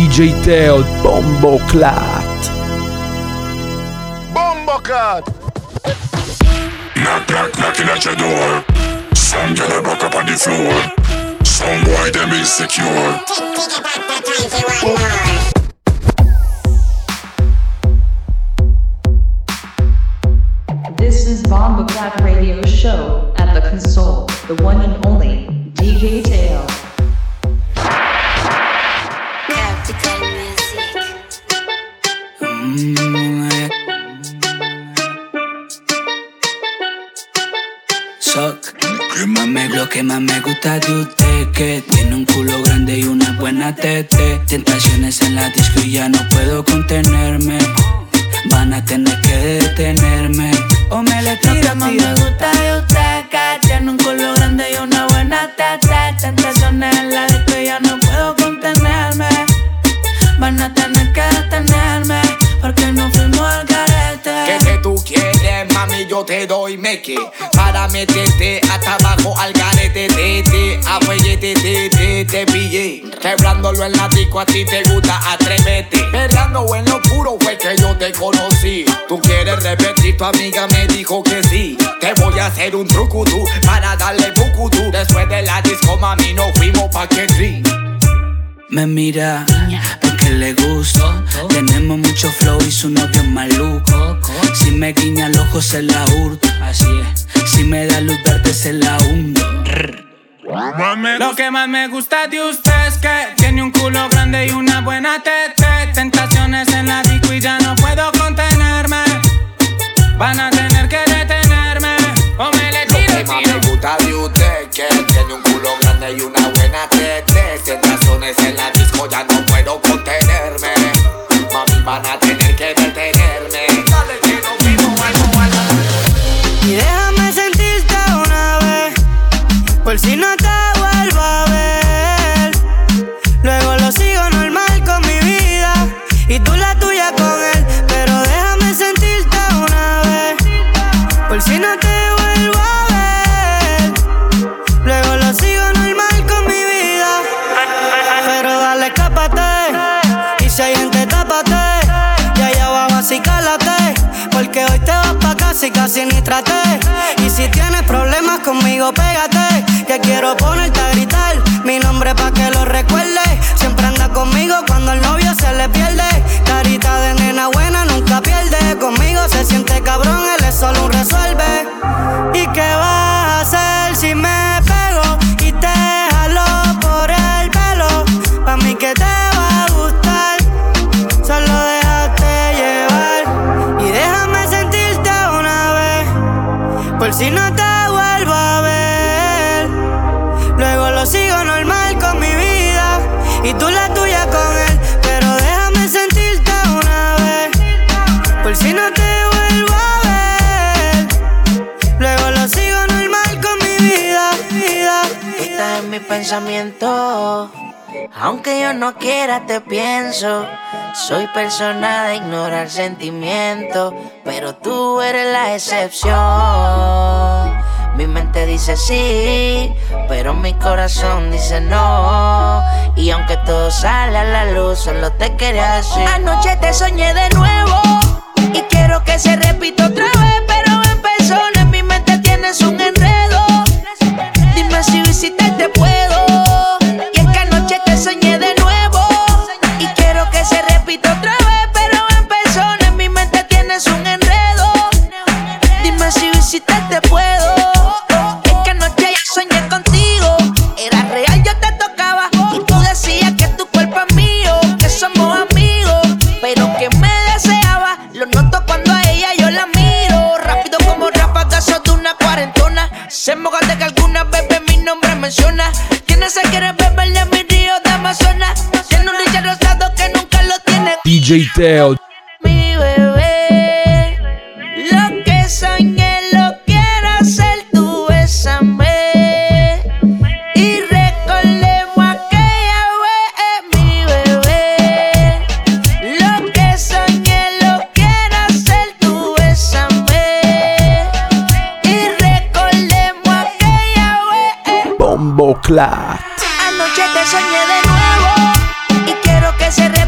DJ Teo, Bomboclat. Bomboclat. Knock, knock, knocking at your door. Some girl back up on the floor. Some boy them insecure. This is Bomboclat Radio Show. At the console, the one and only DJ Teo. Lo que más me gusta de usted, que tiene un culo grande y una buena tete. Tentaciones en la disco y ya no puedo contenerme. Van a tener que detenerme o me le tiran. Lo que más me gusta de usted, que tiene un culo grande y una buena tete. Tentaciones en la disco y ya no puedo contenerme. Van a tener que detenerme porque no fuimos al garete. ¿Qué tú quieres, mami? Yo te doy meque para meterte hasta abajo al garete. Te pillé quebrándolo en la disco, a ti te gusta, atrévete. Perreando en lo puro fue que yo te conocí. Tú quieres repetir, tu amiga me dijo que sí. Te voy a hacer un trucutú para darle bucutú. Después de la disco, mami, nos fuimos pa' Kendrick. Me mira porque le gusto. Tenemos mucho flow y su novio es maluco. Si me guiña el ojo se la hurto. Así es. Si me da luz verde se la hundo. Lo que más me gusta de usted es que tiene un culo grande y una buena tete. Tentaciones en la disco y ya no puedo contenerme. Van a tener que detenerme o me le tiro. Lo que más me gusta de usted que tiene un culo grande y una buena tete. Tentaciones en la disco ya no puedo contenerme. Mami, van a tener que detenerme. Dale que nos vimos algo. Y déjame sentirte una vez, por si no te vuelvo a ver. Luego lo sigo normal con mi vida y tú la tuya con él. Pero déjame sentirte una vez, por si no te vuelvo a ver. Luego lo sigo normal con mi vida. Pero dale, escápate, y si hay gente, tápate. Y allá abajo así cálate, porque hoy te vas pa' casa y casi ni traté. Y si tienes problemas conmigo, pégate, que quiero ponerte a gritar mi nombre pa' que lo recuerdes. Siempre anda conmigo cuando el novio se le pierde. Carita de nena buena nunca pierde. Conmigo se siente cabrón, él es solo un resuelve. ¿Y qué vas a hacer si me pego y te jalo por el pelo? Pa' mí que te va a gustar, solo déjate llevar. Y déjame sentirte una vez, por si no te vuelvo a ver. Luego lo sigo normal con mi vida y tú la tuya con él. Pero déjame sentirte una vez, por si no te vuelvo a ver. Luego lo sigo normal con mi vida. Estás en mi pensamiento, aunque yo no quiera te pienso. Soy persona de ignorar sentimientos, pero tú eres la excepción. Mi mente dice sí, pero mi corazón dice no. Y aunque todo sale a la luz, solo te quería decir: anoche te soñé de nuevo y quiero que se repita otra vez, pero en persona en mi mente tienes un enredo. Dime si visitarte puedo. Y es que anoche te soñé de nuevo y quiero que se repita otra vez, pero en persona en mi mente tienes un enredo. Dime si visitarte puedo. Es que anoche yo soñé contigo, era real, yo te tocaba y tú decías que tu cuerpo es mío, que somos amigos, pero que me deseaba. Lo noto cuando a ella yo la miro, rápido como ráfagas de una cuarentona. Se moja de que alguna bebé mi nombre menciona. Tienes a querer beberle mi río de Amazonas. Tiene un Richard rosado que nunca lo tiene. DJ Teo. Mi bebé, lo que soñé lo quiero hacer, tú bésame y recordemos aquella vez. Mi bebé, lo que soñé lo quiero hacer, tú bésame y recordemos aquella vez. Bomboclat. Anoche te soñé de nuevo y quiero que se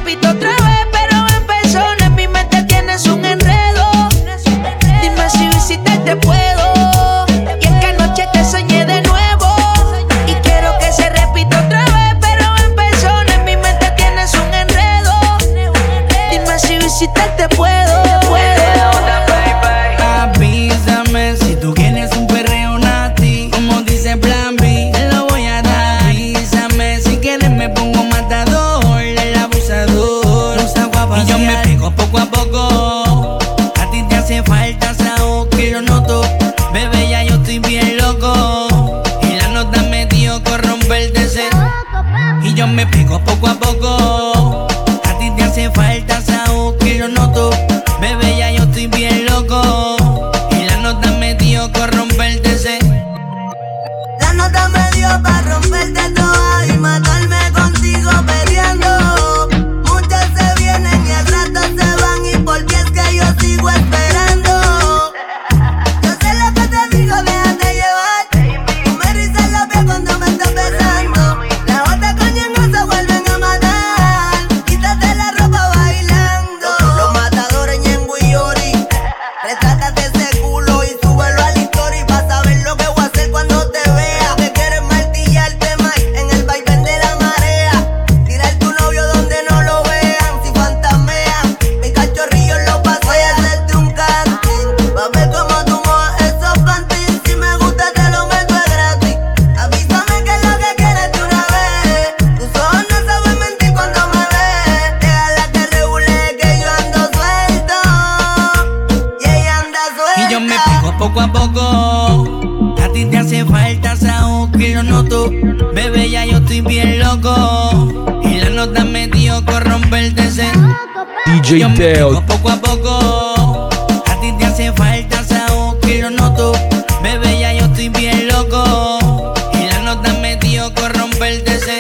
poco. A ti te hace falta Saúl, que lo noto. Bebé, ya yo estoy bien loco. Y la nota me dio con romperte ese. DJ Yo me Teo. pego poco a poco. A ti te hace falta Saúl, que lo noto. Bebé, ya yo estoy bien loco. Y la nota me dio con romperte ese.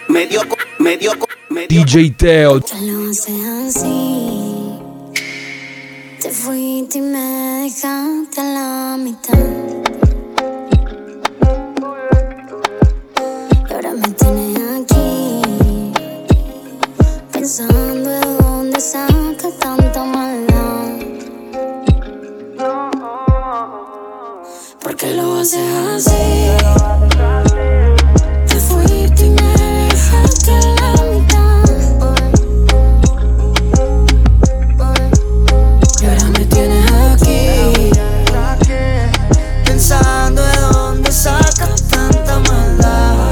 DJ Teo. Ya lo haces así. Te fuiste y me dejaste a la mitad. Y ahora me tienes aquí, pensando de dónde sacas tanta maldad. ¿Por qué lo haces así? Te fuiste y me dejaste a la mitad. Y ahora me tienes aquí, Pensando de dónde sacas tanta maldad.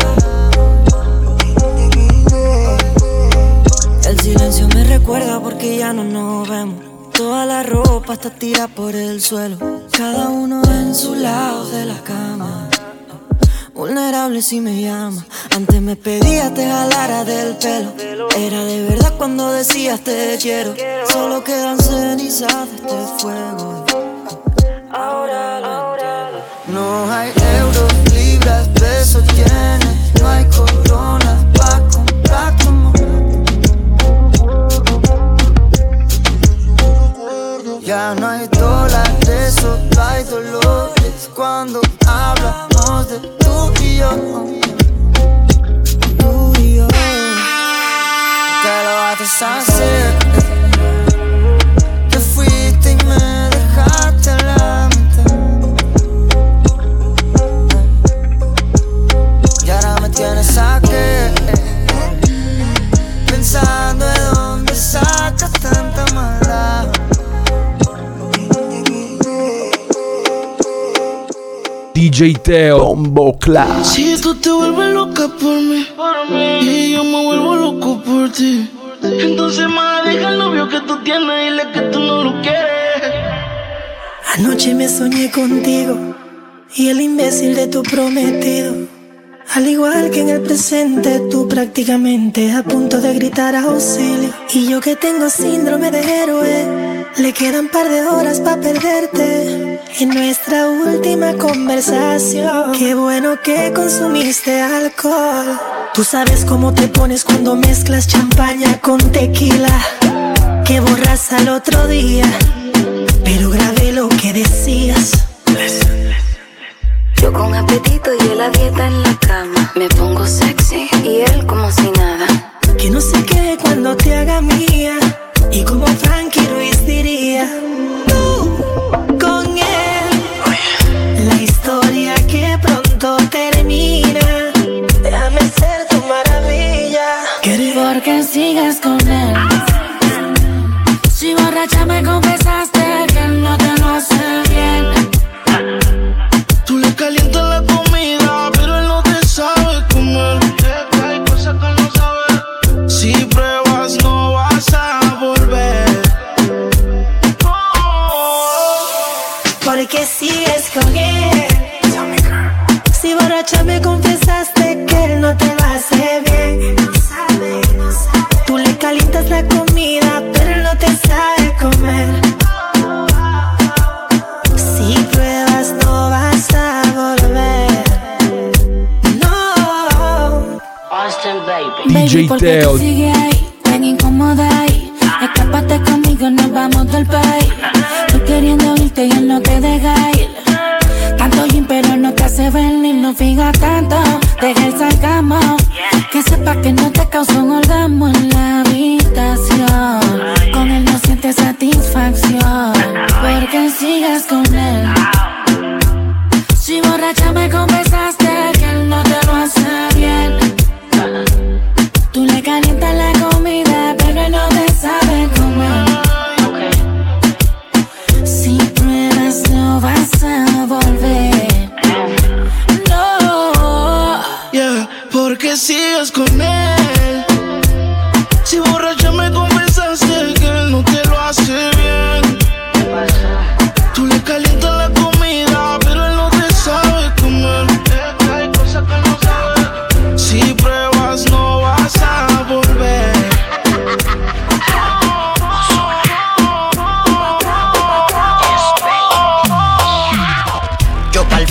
El silencio me recuerda porque ya no nos vemos. Toda la ropa está tirada por el suelo, cada uno en su lado de la cama. Vulnerable si me llama. Antes me pedías te jalara del pelo. Era de verdad cuando decías te quiero. Solo quedan cenizas de este fuego. Ahora lo entiendo. No hay euros, libras, pesos, yenes. No hay coronas pa' comprar tu amor. Ya no hay dólares, solo hay dolores cuando hablamos de tú y yo. Tú y yo. Te lo haces hacer. Te fuiste y me dejaste a la mitad. Y ahora me tienes aquí, pensando de dónde sacas tanta maldad. DJ Teo. Bombo Clat. Si tú te vuelves loca por mí y yo me vuelvo loco por ti, entonces más deja el novio que tú tienes y dile que tú no lo quieres. Anoche me soñé contigo y el imbécil de tu prometido. Al igual que en el presente, tú prácticamente a punto de gritar auxilio. Y yo que tengo síndrome de héroe, le quedan par de horas pa' perderte. En nuestra última conversación, qué bueno que consumiste alcohol. Tú sabes cómo te pones cuando mezclas champaña con tequila, que borras al otro día, pero grabé lo que decías. yo con apetito y él a dieta en la cama. Me pongo sexy y él como si nada. Que no se quede cuando te haga mía. Y como Frankie Ruiz diría, tú con él, la historia que pronto termina. Déjame ser tu maravilla. Porque sigues con él. Si borracha me confesaste que él no te lo hace bien. Tú le calientas la comida, pero él no te sabe comer. Hay cosas que él no sabe. Si pruebas no vas a volver. Porque sigues con él. Si borracha me confesaste que él no te lo hace bien. Tú le calientas la comida, pero él no te sabe comer. Si pruebas no vas a volver. No. Austin, DJ ¿por qué Teo. tú sigues ahí? Tan incómoda ahí. Escápate conmigo, nos vamos del país. Tú queriendo irte y él no te deja ir. Tanto gym pero no te hace venir. No fijas tanto, deja el sarcasmo. Que sepa que no te causa un orgasmo en la habitación. Con él no sientes satisfacción. Porque sigues con él. Si borracha me confesaste que él no te lo hace bien. Tú le calientas la comida, pero él no te sabe comer. Si pruebas no vas a volver. No. Yeah, porque sigues con él. Si borracha me confesaste que él no te lo hace bien. Tú le calientas la comida, pero él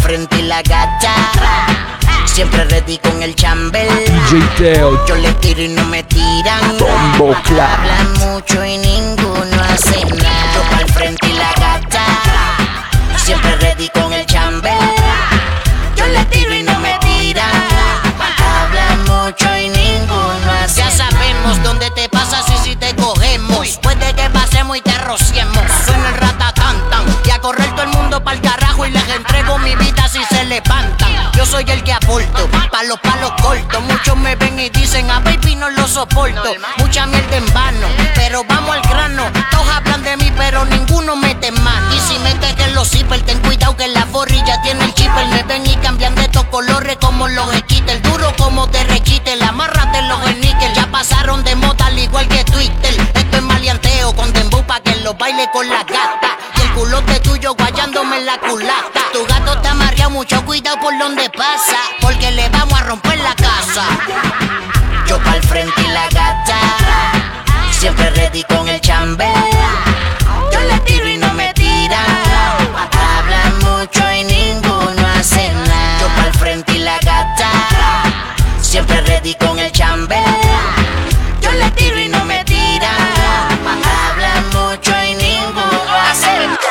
frente y la gacha. Siempre ready con el chambel. DJ Teo. Yo le tiro y no me tiran. Bombo Clat. Hablan mucho y ninguno hace nada. Yo pa'l frente y la gacha. Siempre ready con el chambel. Yo le tiro y no me tiran. Hablan mucho y ninguno hace nada. Ya sabemos dónde te pasas y si te cogemos. Puede que pasemos y te rociemos. Suena el ratatantan y a correr todo el mundo pa'l carajo y les entrego mi vida si se levantan. Yo soy el que aporto, pa' los palos cortos. Muchos me ven y dicen, a baby no lo soporto. Mucha mierda en vano, pero vamos al grano. Todos hablan de mí, pero ninguno mete mano. Y si metes en los zippers, ten cuidado que la borrilla tiene el chipper. Me ven y cambian de estos colores como los esquites. Duro como te requite, la marra de los níquel. Ya pasaron de moda al igual que Twitter. Esto es maleanteo con dembow pa' que lo baile con la gata. Y el culote tuyo guayándome en la culata. Tu gato está amarreado, mucho cuidado por donde pasa, porque le vamos a romper la casa. Yo pa'l frente y la gacha. Siempre ready con el chambel. Yo le tiro y no me tiran. Hablan mucho y ninguno hace nada. Yo pa'l frente y la gacha. Siempre ready con el chambel. Yo le tiro y no me tiran. Hablan mucho y ninguno hace nada.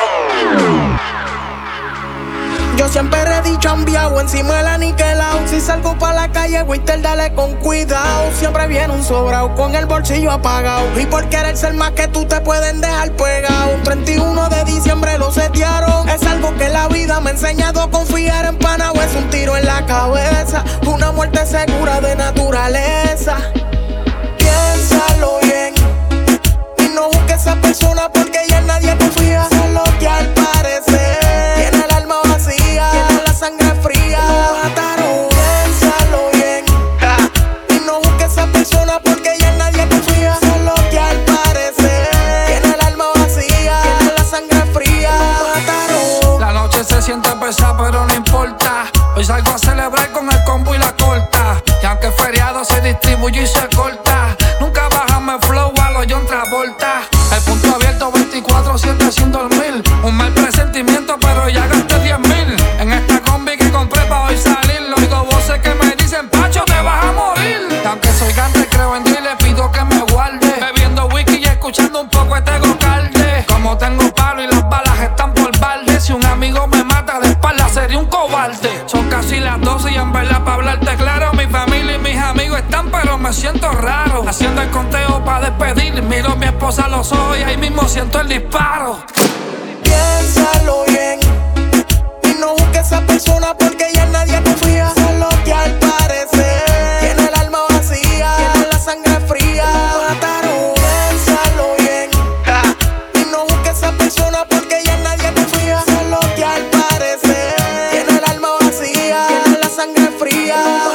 Yo siempre ready chambeado, encima del aniquilao. Si salgo pa' la calle, Winter, dale con cuidado. Siempre viene un sobrao con el bolsillo apagado. Y por querer ser más que tú te pueden dejar pegado. 31 de diciembre lo setearon. Es algo que la vida me ha enseñado a confiar en pana o es un tiro en la cabeza. Una muerte segura de naturaleza. Piénsalo bien y no busques a esa persona porque ya nadie confía. Solo que al parecer tiene el alma vacía, tiene la sangre fría. Mataron, piénsalo bien y no busques a esa persona porque ya nadie confía. Solo que al parecer tiene el alma vacía, tiene la sangre fría. Mataron. La noche se siente pesada pero no importa. Hoy salgo a celebrar con el combo y la corta. Y aunque feriado se distribuye y se corta, nunca bajame flow a lo John Travolta. El punto abierto 24/7 sin dormir. Un mal presentimiento pero ya gasté 10,000 en esta combi que compré pa' hoy salir. Oigo voces que me dicen, Pacho, te vas a morir. Y aunque soy gante, creo en Dios y le pido que me guarde. Bebiendo whisky y escuchando un poco de Tego Calde. Como tengo palo y las balas están por balde. Si un amigo me mata de espalda sería un cobarde. Son casi las 12 y en verdad pa' hablarte claro, mi familia y mis amigos están pero me siento raro. Haciendo el conteo pa' despedir, miro a mi esposa a los ojos y ahí mismo siento el disparo. Piénsalo bien y no busques a esa persona porque ya nadie confía. Solo que al parecer tiene el alma vacía, tiene la sangre fría. Mataron, piénsalo bien y no busques a esa persona porque ya nadie confía. Solo que al parecer tiene el alma vacía, tiene la sangre fría.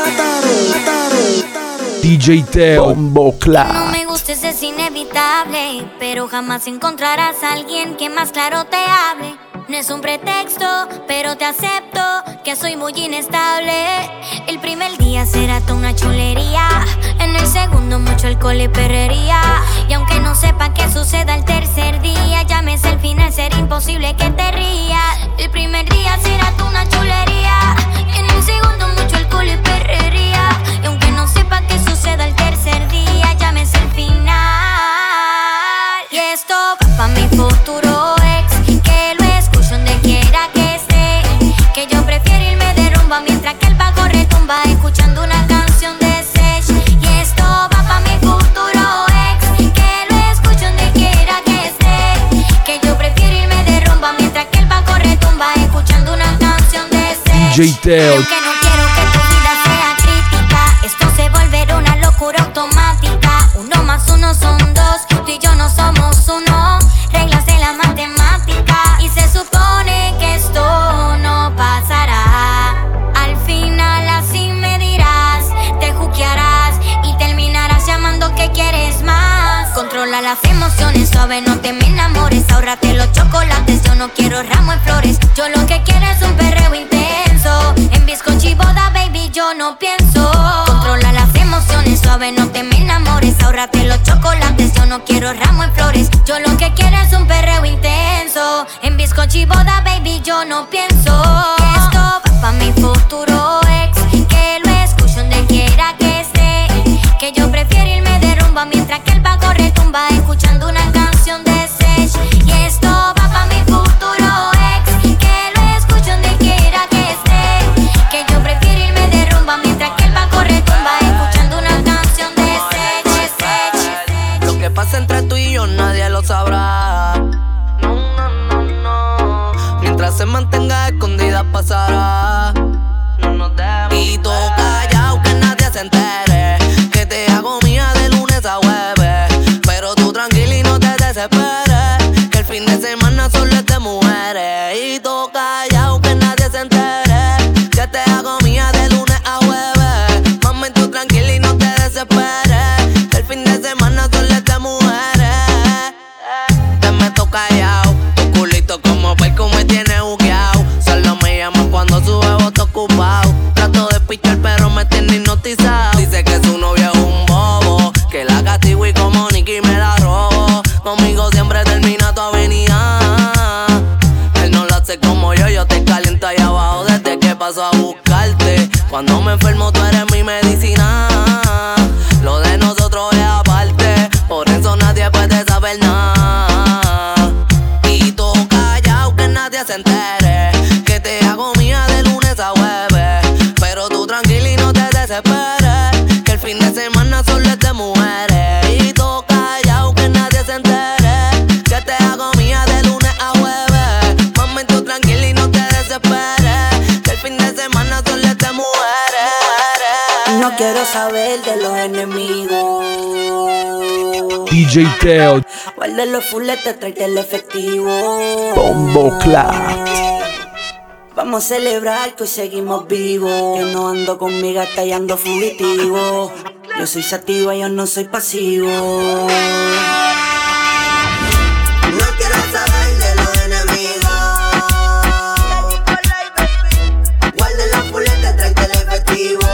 Mataron. DJ Teo. Bombo No Clat. me gustes, es inevitable, pero jamás encontrarás a alguien que más claro te hable. No es un pretexto, pero te acepto que soy muy inestable. El primer día será toda una chulería, en el segundo mucho alcohol y perrería. Y aunque no sepa qué suceda el tercer día, llámese el final, será imposible que te rías. El primer día será toda una chulería, en el segundo mucho alcohol y perrería. Y aunque no sepa qué suceda el tercer día, llámese el final. Y esto va pa' mi futuro ex, que lo escucho donde quiera que esté. Que yo prefiero irme de rumba mientras que el bajo retumba, escuchando una canción de Sech. Y esto va pa' mi futuro ex, que lo escucho donde quiera que esté. Que yo prefiero irme de rumba mientras que el bajo retumba, escuchando una canción de Sech. DJ Teo. Aunque no quiero que tu vida sea crítica, esto se volverá una locura automática. 1 más 1 son 2, tú y yo no somos uno. Reglas de la matemática y se supone que esto no pasará. Al final así me dirás, te juquearás y terminarás llamando que quieres más. Controla las emociones, suave, no te me enamores. Ahórrate los chocolates, yo no quiero ramo en flores. Yo lo que quiero es un perreo intenso. En bizcocho y boda, baby, yo no pienso. Controla las emociones, suave, no te me enamores. Ahórrate los chocolates, yo no quiero ramo en flores. Yo lo que quiero es un perreo intenso. En bizcocho y boda, baby, yo no pienso. Esto va pasará. No nos demos. Y tú callao que nadie se entere, que te hago mía de lunes a jueves. Pero tú tranquila y no te desesperes, que el fin de semana solo es de mujeres. Y tú callao que nadie se entere, que te hago mía de lunes a jueves. Mami, tú tranquila y no te desesperes, que el fin de semana solo es de mujeres. Te meto callao, tu culito como perco me tiene bugueado. Solo me llaman cuando su huevo está ocupado. Trato de pichar pero me tiene hipnotizado. Dice que su novio es un bobo, que la castigo y como Nicky me la robo. Conmigo siempre termina tu avenida. Él no lo hace como yo te caliento ahí abajo desde que paso a buscarte. Cuando me enfermo tú eres mi medicina. Lo de nosotros es aparte, por eso nadie puede saber nada. Y tú callao que nadie se entere, que te hago mía de lunes a jueves. Pero tú tranquila y no te desesperes, que el fin de semana solo es de mujeres. Y tú callao que nadie se entere, que te hago mía de lunes a jueves. Mami, tú tranquila y no te desesperes, que el fin de semana solo es de mujeres. No quiero saber de los enemigos. DJ Teo, Guarda los fuletes, tráete el efectivo. Bombo Clat. Vamos a celebrar que hoy seguimos vivos. Que no ando con mi gata y ando fugitivo. Yo soy sativa, yo no soy pasivo. No quiero saber de los enemigos. Guarda los fuletes, tráete el efectivo.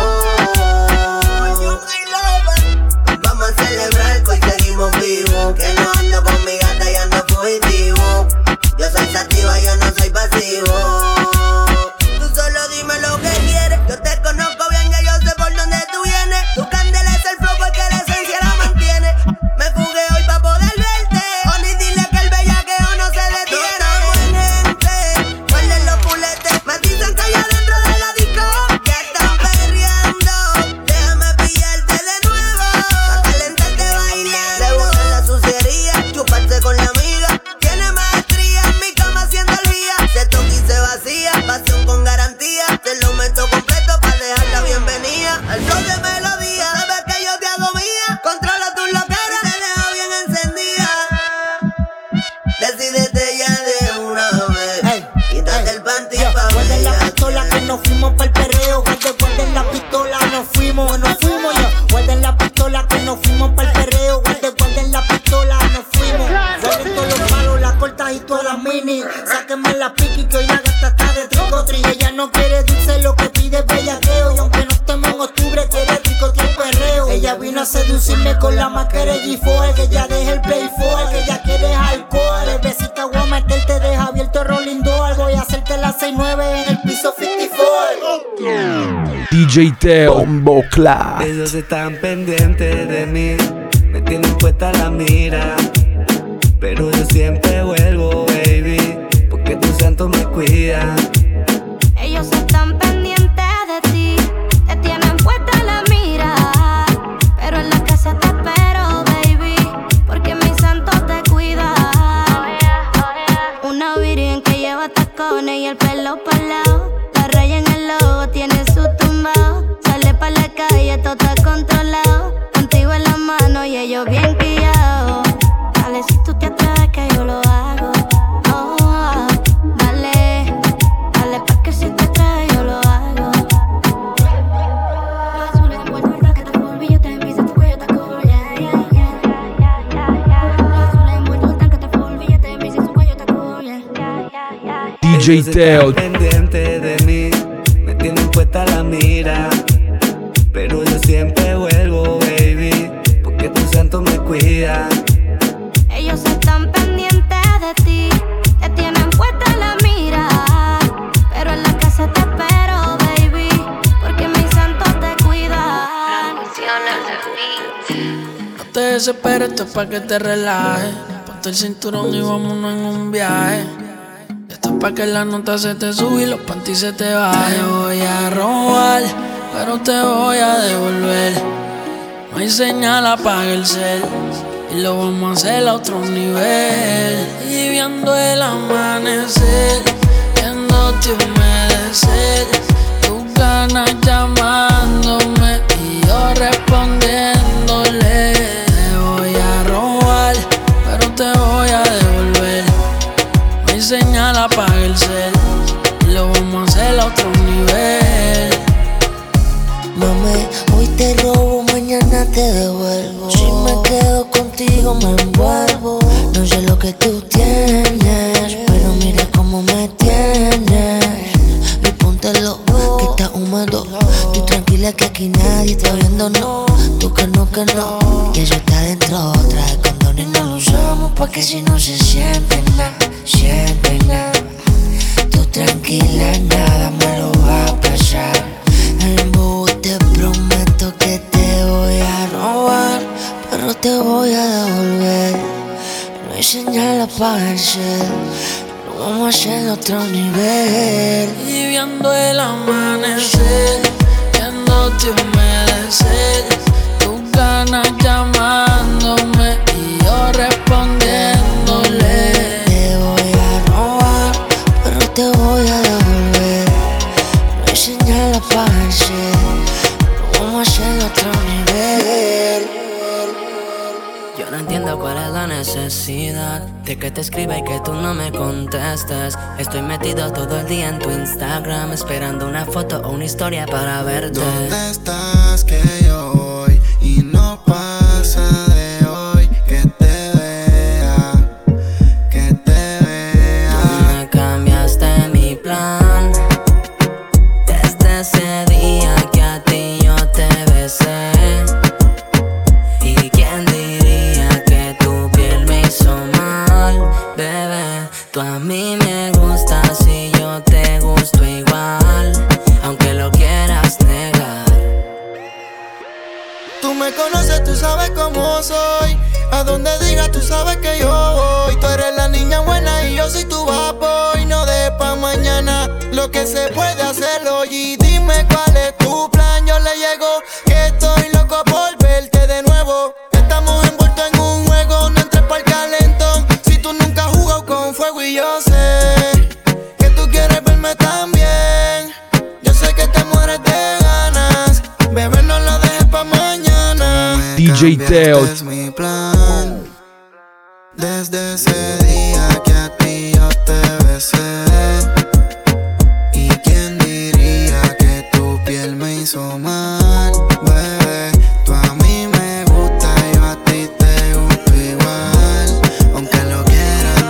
Vamos a celebrar que hoy seguimos vivos. Que no ando con mi gata y ando fugitivo. Yo soy sativa, yo no soy pasivo. Tú solo dime lo que quieres. Yo te conozco bien, ya yo sé por dónde tú vienes. Tu candela es el flow porque la esencia la mantiene. Me fugué hoy pa' poder verte. Oni, dile que el bellaqueo no se detiene. No estamos en gente, guarden los puletes. Me dicen que allá dentro de la disco ya están perreando. Déjame pillarte de nuevo, pa' calentarte bailando. Le gusta la suciería, chuparse con la amiga. Tiene maestría en mi cama haciendo el guía. Se toca y se vacía, pasión con garantía. Te lo meto completo pa' dejarla bienvenida. Al flow de melodía, sabes que yo te hago mía. Controla tus loqueras, te dejo bien encendida. Decídete ya de una vez, quítate el panty pa' Guarden la pistola que nos fuimos pa'l perreo. Guarden la pistola, nos fuimos ya. Guarden la pistola que nos fuimos pa'l perreo. Guarden la pistola, nos fuimos. Guarden todos los palos, las cortas y todas las mini. Sáquenme la piqui que hoy la gata está de tricotri. Ella no quiere dulce, lo que pide es bellaqueo. Y aunque no estemos en octubre, quiere tricotear el perreo. Ella vino a seducirme con la máscara de G4. Que ella deje el play for, que ella quiere alcohol. El besito voy a meterte, deja abierto el rolling door. Voy a hacerte la 6-9 en el piso 54. DJ Teo, Bombo Clat. Ellos están pendientes de mí, me tienen puesta la mira. Pero yo siempre vuelvo, baby, porque tu santo me cuida. Ellos están pendientes de ti, te tienen puesta la mira. Pero en la casa te espero, baby, porque mi santo te cuida. Una virgen que lleva tacones y el pelo pa'l lado. La raya en el logo tiene su tumbao. Sale pa' la calle, todo está controlado. Contigo en la mano y ellos bien guiados. Dale si tú te atreves que yo lo hago. Oh, dale, dale pa' que si te atreves yo lo hago. Los azules envueltos en raqueta full, billete en visa, tu cuello está cool, yeah, yeah, yeah. Los azules envueltos en raqueta full, billete en visa, tu cuello está cool, yeah, yeah, yeah. DJ Teo, Pendiente de mí, me tienen puesta la mira. Pero yo siempre vuelvo, baby, porque tu santo me cuida. Ellos están pendientes de ti, te tienen puesta la mira. Pero en la casa te espero, baby, porque mi santo te cuida. No te desesperes, esto es pa' que te relajes. Ponte el cinturón y vámonos en un viaje. Esto es pa' que la nota se te sube y los panties se te bajen. Te voy a robar, pero te voy a devolver. No hay señal, apaga el cel y lo vamos a hacer a otro nivel. Y viendo el amanecer, viendo te humedecer. sed, tus ganas llamándome y yo respondiéndole. Te voy a robar, pero te voy a devolver. No hay señal, apaga el cel y lo vamos a hacer a otro nivel. Mami, hoy te robo, mañana te devuelvo. Si me quedo contigo me envuelvo. No sé lo que tú tienes, pero mira cómo me tienes. Y póntelo, que está húmedo. Tú tranquila que aquí nadie está viendo, no. Tú que no, que eso está dentro. Trae condón y no lo usamos pa' que si no se siente nada, siente nada. Tú tranquila, nada me lo va a pasar. Te prometo que te voy a robar, pero te voy a devolver. No hay señal, apaga el cel, lo vamos a hacer a otro nivel. Y viendo el amanecer, viéndote humedecer, tus ganas llamándome y yo respondiéndole. Te voy a robar, pero te voy a devolver. No hay señal, apaga el cel, vamos a hacer otro nivel. Yo no entiendo cuál es la necesidad de que te escriba y que tú no me contestes. Estoy metido todo el día en tu Instagram, esperando una foto o una historia para verte. ¿Dónde estás? Que yo voy y no pasa de hoy que te vea, que te vea. Tú me cambiaste mi plan desde ese día que a ti yo te besé. ¿Y quién diría que tu piel me hizo mal, bebé? Tú a mí me gustas y yo te gusto igual, aunque lo quieras negar. Tú me conoces, tú sabes cómo soy. A donde digas, tú sabes que yo voy. Tú eres la niña buena y yo soy tu bad boy. No de pa' mañana lo que se puede hacer hoy. Y dime cuál es tu plan, yo le llego. Que estoy loco por verte de nuevo. Estamos envueltos en un juego, no entres pa'l calentón. Si tú nunca has jugado con fuego y yo sé que tú quieres verme también. Yo sé que te mueres de ganas, bebé, no lo dejes pa' mañana. DJ Teo. Es mi plan. Desde ese día que a ti yo te besé. ¿Y quién diría que tu piel me hizo mal, bebé? Tú a mí me gusta, yo a ti te gusto igual, aunque lo quieras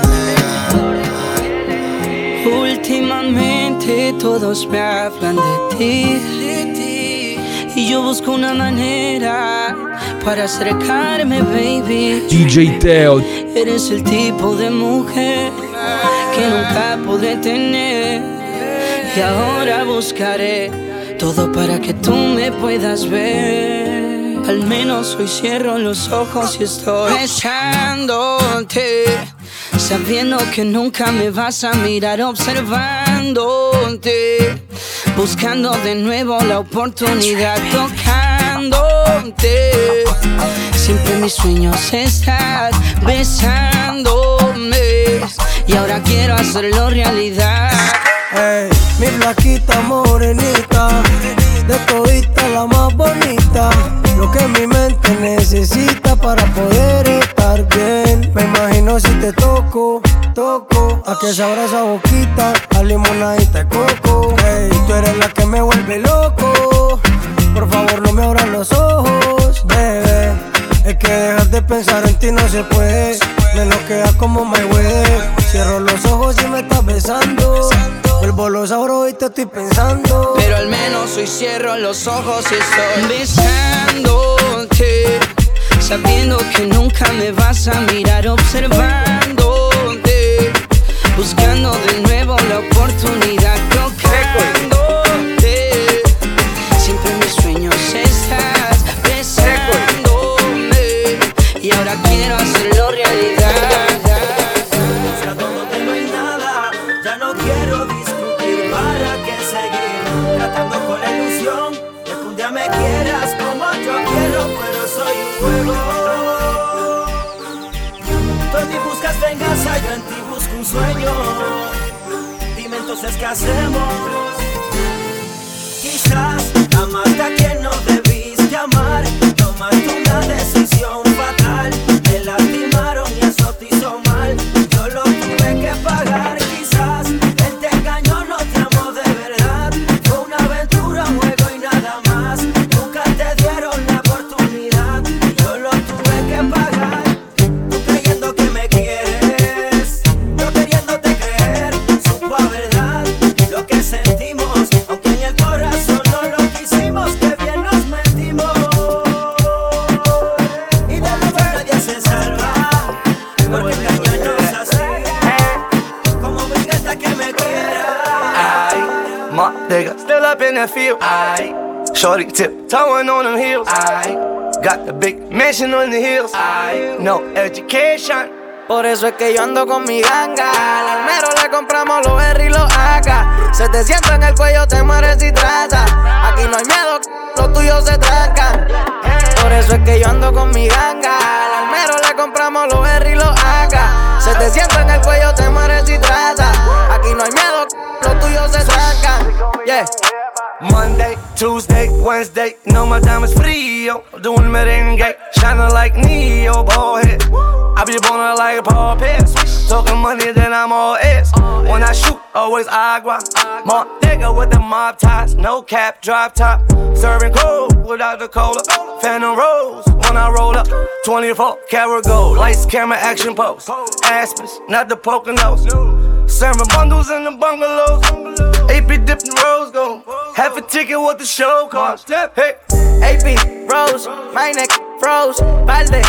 negar. Últimamente todos me hablan de ti, y yo busco una manera para acercarme, baby. DJ Teo. Eres el tipo de mujer que nunca podré tener, y ahora buscaré todo para que tú me puedas ver. Al menos hoy cierro los ojos y estoy besándote, sabiendo que nunca me vas a mirar, observándote, buscando de nuevo la oportunidad, tocándote. Siempre en mis sueños estás besándome, y ahora quiero hacerlo realidad. Hey, mi flaquita morenita, de todita la más bonita, lo que mi mente necesita para poder estar bien. Me imagino si te toco, a que sabrá esa boquita, a limonadita de coco. Hey, tú eres la que me vuelve loco, por favor no me abras los ojos, bebé. Es que dejar de pensar en ti no se puede, me lo queda como my way. Cierro los ojos y me estás besando, vuelvo los abro y te estoy pensando. Pero al menos hoy cierro los ojos y estoy besándote, sabiendo que nunca me vas a mirar, observándote, buscando de nuevo la oportunidad, tocándote. Siempre en mis sueños estás besándome, y ahora quiero hacerlo realidad. Ya todo que no hay nada, ya no quiero discutir, para qué seguir tratando con la ilusión de que un día me quieras como yo quiero, pero soy un juego. Tú en mí buscas venganza, yo en ti busco un sueño. Dime entonces qué hacemos. Bottega, still up in that field. Shorty tiptoeing on them heels. Got the big mansion on the hills. No education. Por eso es que yo ando con mi ganga. Al almero le compramos los R y los AK. 700 en el cuello, te mueres si trata. Aquí no hay miedo, los tuyos se trancan. Por eso es que yo ando con mi ganga. Al almero le compramos los R y los AK. 700 en el cuello, te mueres si trata. Aquí no hay miedo, los tuyos se trancan. Yeah. Monday, Tuesday, Wednesday, no my diamonds frío. Doing merengue, shining like Neo, bald head. I be ballin' like a Paul Pierce. Talking money, then I'm all ears. When I shoot, always agua. Montega with the mob ties, no cap, drop top. Serving cold without the cola. Phantom Rose when I roll up. 24 karat gold, lights, camera, action pose. Aspens, not the Poconos. Serving bundles in the bungalows. AP dipping rose gold. Half a ticket what the show cost. Hey, AP, Rose, my neck froze, Valde,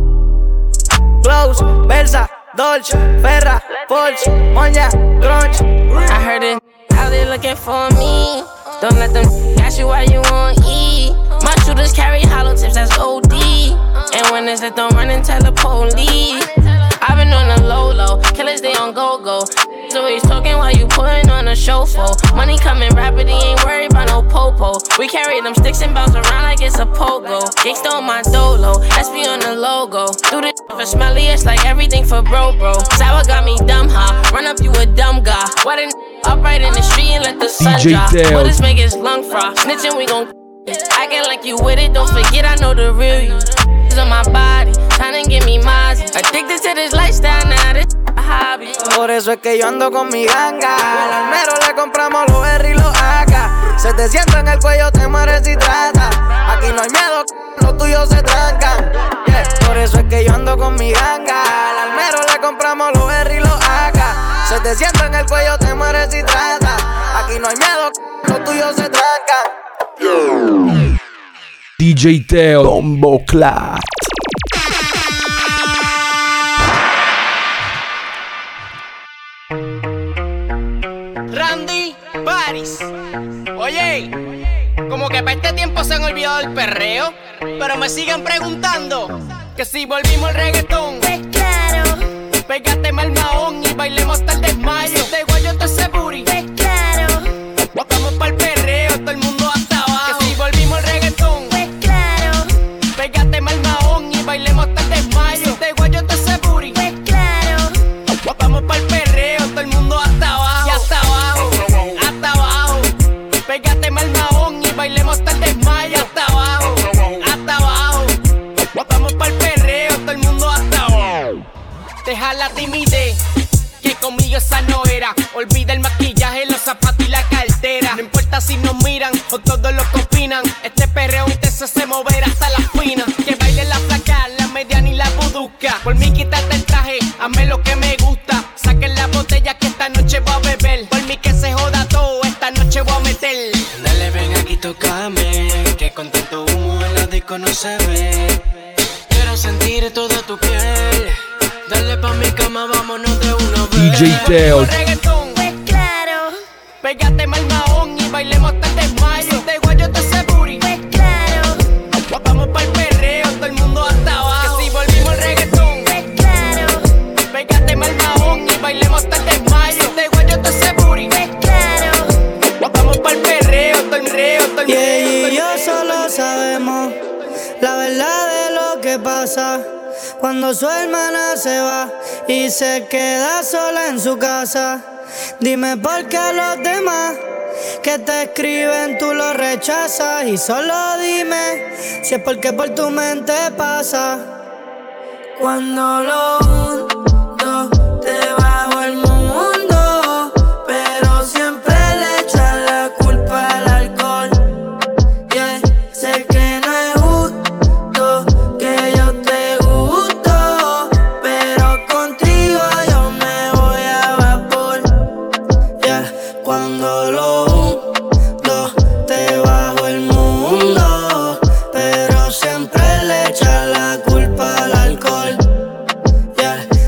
Close, Versa, Dolce, Ferra, Porsche, Monya, Grunge. I heard it out there looking for me. Don't let them ask you why you want E. My shooters carry hollow tips, that's OD. And when it's it, don't run and tell the police. I've been on the low, killers they on go-go. So he's talking while you putting on a show for. Money coming rapid, he ain't worried about no popo. We carry them sticks and bounce around like it's a pogo. Gangsta on my dolo, SP on the logo. Do this for smelly, it's like everything for bro. Sour got me dumb, huh? Run up, you a dumb guy. Why didn't upright in the street and let the sun drop? What this make his lung frost? Snitching, we gon' acting like you with it, don't forget I know the real you. On my body, trying to get me Mozzie. Addicted to this lifestyle, now this a hobby. Por eso es que yo ando con mi ganga. Al almero le compramos los R y los AK. 700 en el cuello, te mueres si trata. Aquí no hay miedo, los tuyos se trancan. Yeah. Por eso es que yo ando con mi ganga. Al almero le compramos los R y los AK. 700 en el cuello, te mueres si trata. Aquí no hay miedo, los tuyos se trancan. DJ Teo Bombo Clat. Randy Paris. Oye, como que para este tiempo se han olvidado del perreo, pero me siguen preguntando que si volvimos al reggaetón. Pues claro. Pégate mal mahón y bailemos hasta el desmayo. Si te guayo te ese booty. Pues claro. Vamos pa'l perreo, todo el mundo hasta abajo. Que si volvimos al reggaetón. Pues claro. Pégate mal mahón y bailemos hasta el desmayo. Si te guayo te ese booty. Pues claro. Vamos pa'l perreo, todo el mundo hasta abajo. Y hasta abajo, hasta abajo. Pégate mal mahón y bailemos hasta el desmayo. Hasta abajo, hasta abajo. Vamos pa'l perreo, todo el mundo hasta abajo. Deja la timidez, que conmigo esa no era. Olvida el maquillaje, los zapatos y la cartera. No importa si nos miran o todos los que opinan. Este perreo intenso se moverá hasta las finas. Que baile la flaca, la mediana y la buduca. Por mí quítate el traje, hazme lo que me gusta. Saquen la botella que esta noche voy a beber. Por mí que se joda todo, esta noche voy a meter. Dale, ven aquí, tócame, que con tanto humo en la disco no se ve. Quiero sentir toda tu piel. Dale pa' mi cama, vámonos de una vez. DJ Teo. Pues claro. Pégate mal mahón y bailemos hasta el desmayo. Si te guayo te ese booty. Pues claro. Vamos pa'l perreo, todo el mundo hasta abajo. Que si volvimos al reggaetón. Pues claro. Pégate mal mahón y bailemos hasta el desmayo. Si te guayo te ese booty. Pues claro. Vamos pa'l perreo, todo el reo, todo el Y ella y yo solo sabemos la verdad de lo que pasa cuando su hermana se va y se queda sola en su casa. Dime por qué los demás que te escriben tú los rechazas. Y solo dime si es porque por tu mente pasa. Cuando lo junto debajo del mundo, pero siempre le echan la culpa al alcohol. Yeah, sé que no es justo que yo te gusto, pero contigo yo me voy a vapor. Yeah, cuando lo junto debajo del mundo, pero siempre le echan la culpa al alcohol. Yeah,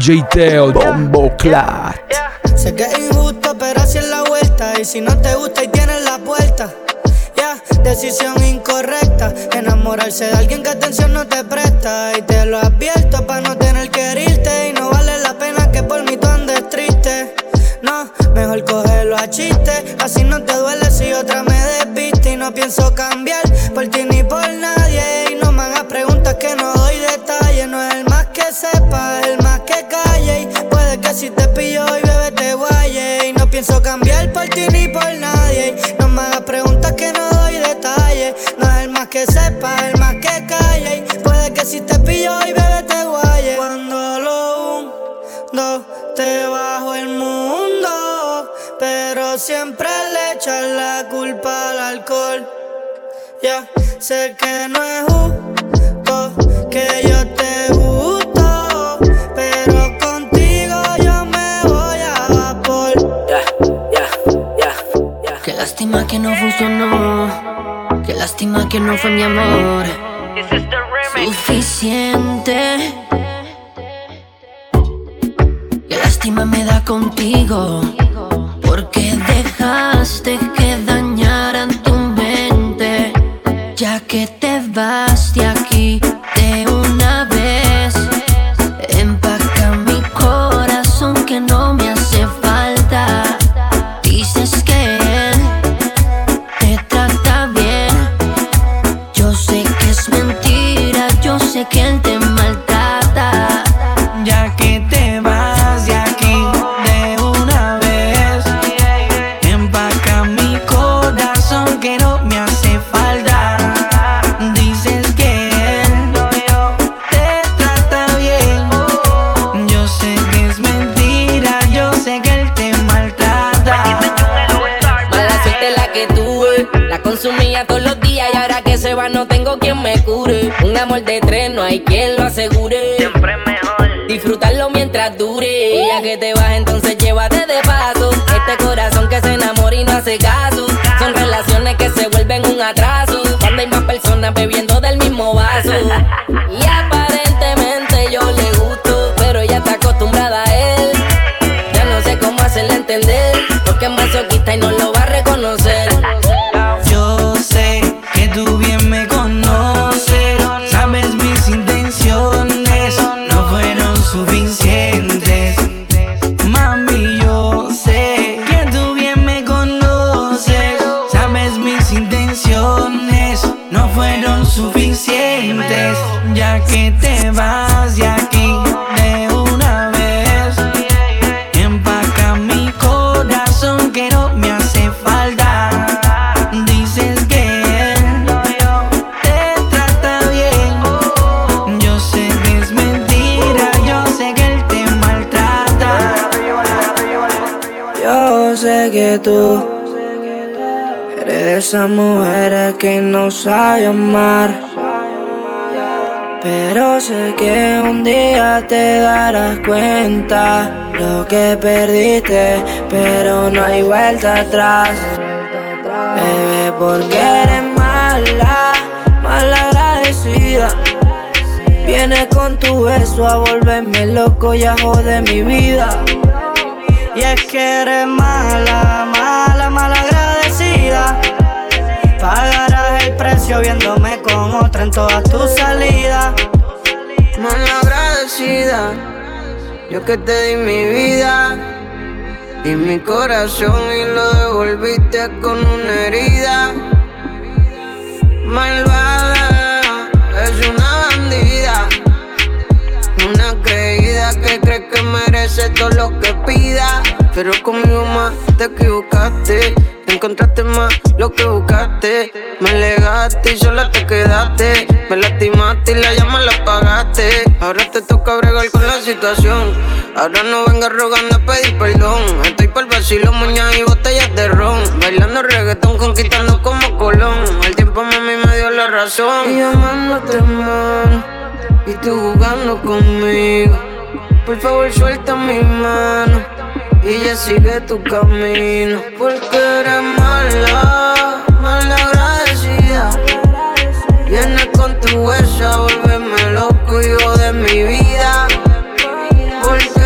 DJ Teo, Bombo Clat. Sé que es injusto, pero así es la vuelta. Y si no te gusta y tienes la puerta, decisión incorrecta. Enamorarse de alguien que atención no te presta. Y te lo advierto pa' no tener que herirte. Y no vale la pena que por mí tú andes triste. No, mejor cógelo a chiste. Así no te duele si otra me desviste. Y no pienso cambiar por ti ni por nadie. Y no me hagas preguntas que no doy detalles. No es el más que sepa, es el más que calle. Y puede que si te pillo y bebé te guaye. Y no pienso cambiar por ti ni por nadie. No me hagas preguntas que no doy detalles. No es el más que sepa, es el más que calle. Y puede que si te pillo y bebé te guaye. Cuando lo hundo te bajo el mundo, pero siempre le echas la culpa al alcohol. Ya sé que no es justo que yo te gusto, pero contigo yo me voy a vapor. Qué lástima que no funcionó, qué lástima que no fue mi amor suficiente. Qué lástima me da contigo, porque dejaste que dañaran tu mente. Ya que te vas de aquí de una vez, empaca mi corazón que no me hace falta. Dices que él te trata bien, yo sé que es mentira, yo sé que él te maltrata. Ya que te vas de aquí de una vez, empaca mi corazón que no me hace falta. Dices que él te trata bien, yo sé que es mentira, yo sé que él te maltrata. Mala suerte la que tuve, la consumía todos los días y ahora que se va no tengo quien me cure. Un amor de tres no hay quien lo asegure. Siempre mejor disfrutarlo mientras dure. Ya que te vas entonces llévate de paso este corazón que se enamora y no hace caso. Son relaciones que se vuelven un atraso cuando hay más personas bebiendo del mismo vaso. Y aparentemente yo le gusto, pero ella está acostumbrada a él. Ya no sé cómo hacerle entender, porque es masoquista y no lo va a reconocer. Yo sé que tú bien me conoces, sabes mis intenciones no fueron suficientes. Mami, yo sé que tú bien me conoces, sabes mis intenciones no fueron suficientes. Ya que te vas de aquí de una vez, empaca mi corazón que no me hace falta. Dices que él te trata bien, yo sé que es mentira, yo sé que él te maltrata. Yo sé que tú eres de esas mujeres que no sabe amar, pero sé que un día te darás cuenta lo que perdiste, pero no hay vuelta atrás. Bebé, porque eres mala, mal agradecida. Vienes con tu beso a volverme loco y a joder mi vida. Y es que eres mala, mala, mal agradecida. Pagarás el precio viéndome con otra en todas tus salidas. Mal agradecida, yo que te di mi vida y mi corazón y lo devolviste con una herida. Malvada, es una bandida, una creída que cree que merece todo lo que pida. Pero conmigo más te equivocaste, encontraste más lo que buscaste. Me alegaste y sola te quedaste, me lastimaste y la llama la apagaste. Ahora te toca bregar con la situación, ahora no vengas rogando a pedir perdón. Estoy por el vacilo, moñas y botellas de ron, bailando reggaetón, conquistando como Colón. El tiempo mami me dio la razón, y amándote mal y tú jugando conmigo. Por favor suelta mi mano y ya sigue tu camino, porque eres mala, mal agradecida. Vienes con tu huesa a volverme loco y joder mi vida, porque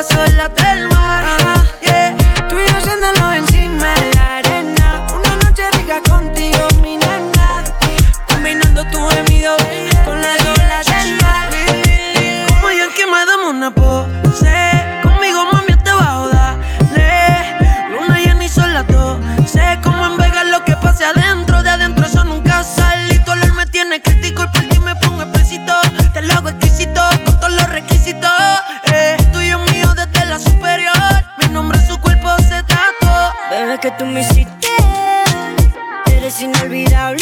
las olas del mar. Yeah. Tú y yo haciéndolo encima de la arena. Una noche rica contigo, mi nena. Combinando tu gemido con las olas del mar. Como yo que me damos una pose. Conmigo mami te bajo, dale. Luna llena y sol las 12. Como en Vegas lo que pase adentro. De adentro eso nunca sale. Y tu olor me tiene crítico y por ti me pongo explícito. Te lo hago exquisito con todos los requisitos. Tuyo mío desde la superior. Mi nombre en su cuerpo se tatuó. Bebé, que tú me hiciste, eres inolvidable.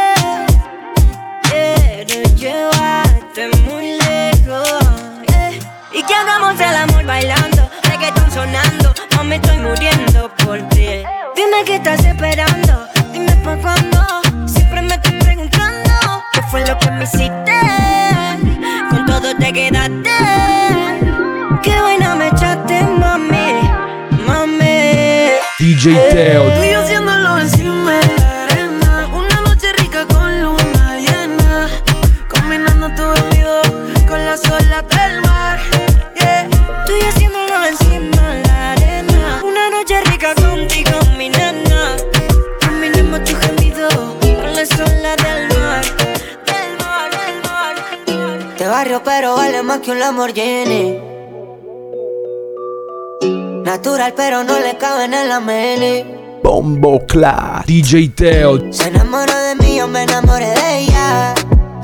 Quiero llevarte muy lejos, y que hagamos el amor bailando, reggaetón sonando. No me estoy muriendo por ti. Dime qué estás esperando, dime pa' cuándo. Siempre me estoy preguntando qué fue lo que me hiciste. Con todo te quedaste. Qué buena me echaste, mami, mami. DJ Teo. Tú y yo haciéndolo encima de la arena. Una noche rica con luna llena. Combinando tu bebido con las olas del mar. Yeah. Tú y yo haciéndolo encima de la arena. Una noche rica contigo, mi nena. Combinamos tu gemido con las olas del mar. Del mar, del mar. De barrio pero vale más que un Lamborghini. Natural pero no le cabe en la mini. Bombo Clat. DJ Teo. Se enamoró de mí, yo me enamoré de ella.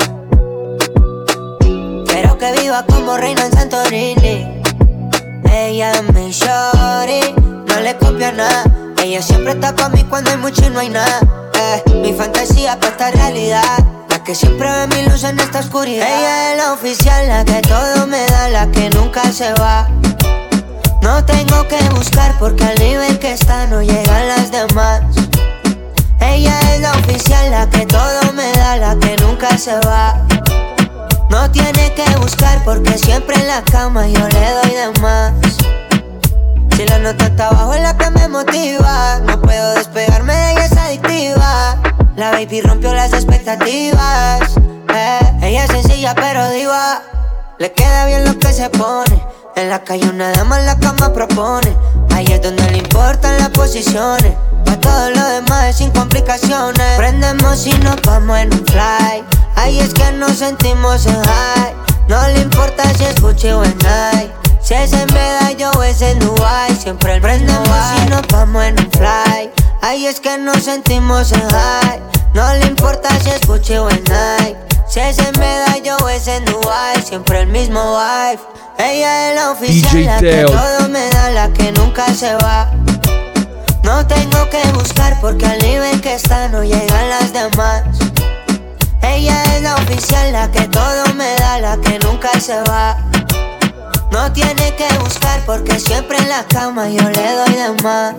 Quiero que viva como reina en Santorini. Ella es mi shorty, no le copia nada. Ella siempre está pa' mí cuando hay mucho y no hay nada. Mi fantasía pa' esta realidad, la que siempre ve mi luz en esta oscuridad. Ella es la oficial, la que todo me da, la que nunca se va. No tengo que buscar porque al nivel que está no llegan las demás. Ella es la oficial, la que todo me da, la que nunca se va. No tiene que buscar porque siempre en la cama yo le doy de más. Si la nota está abajo es la que me motiva. No puedo despegarme de ella, es adictiva. La baby rompió las expectativas. Ella es sencilla pero diva. Le queda bien lo que se pone. En la calle una dama en la cama propone. Ahí es donde le importan las posiciones. Pa' todo lo demás es sin complicaciones. Prendemos y nos vamos en un fly. Ahí es que nos sentimos en high. No le importa si es Gucci o en Nike. Si es en Medallo o es en Dubai. Siempre prendemos y nos vamos en un fly. Ahí es que nos sentimos en high. No le importa si es Gucci o en Nike. Si es en Medallo o es en Dubai. Siempre el mismo vibe. Ella es la oficial, la que todo me da, la que nunca se va. No tengo que buscar porque al nivel que está no llegan las demás. Ella es la oficial, la que todo me da, la que nunca se va. No tiene que buscar porque siempre en la cama yo le doy de más.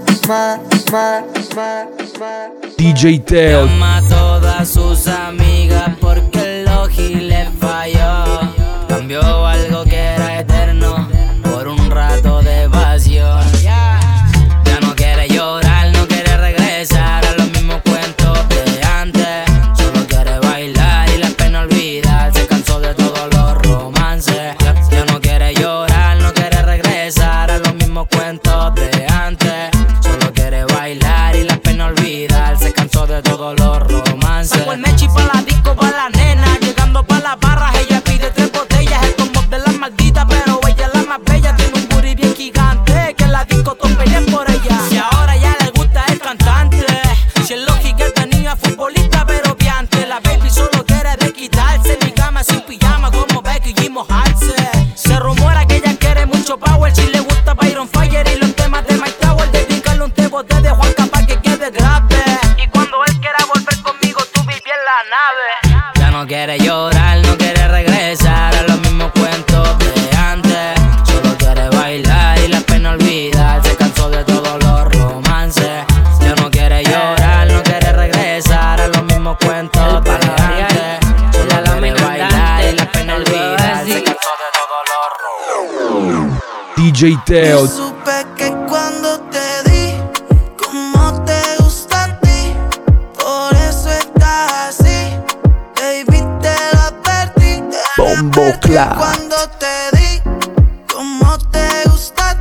DJ Teo. Llama a todas sus amigas porque el Logi le falló. Cambió algo que era eterno por un rato de evasión. Ya no quiere llorar, no quiere regresar a los mismos cuentos de antes. Solo quiere bailar y la pena olvidar. Se cansó de todos los romances. Ya no quiere llorar, no quiere regresar a los mismos cuentos de antes. Solo quiere bailar y la pena olvidar. Se cansó de todos los romances. Saco el mechi pa' la disco, pa' la nena. Llegando pa' las barras, ella pide 3 botellas. El combo de las malditas, pero ella es la más bella. Tiene un booty bien gigante, que en la disco todos pelean por ella. Y ahora ya le gusta el cantante. Si el Logi que tenía futbolista, pero piante. La baby solo quiere de quitarse. Mi cama sin pijama, como Becky y mojarse. Se rumora que ella quiere mucho power. Si le gusta Byron Fire y los temas de Mike Tower. Dedicarle un tebote de Juan Capaz que quede grave. Y cuando él quiera volver conmigo, tú viví en la nave. Ya no quiere llorar, no quiere regresar a los mismos cuentos de antes. Solo quiere bailar y la pena olvidar. Se cansó de todos los romances. Ya no quiere llorar, no quiere regresar a los mismos cuentos de antes. Solo quiere bailar y la pena olvidar. Se cansó de todos los romances. DJ Teo. Supe que cuando te di, como te gusta a ti, por eso estás así, baby, te lo advertí. Bombo Clat. Cuando te di, como te gusta a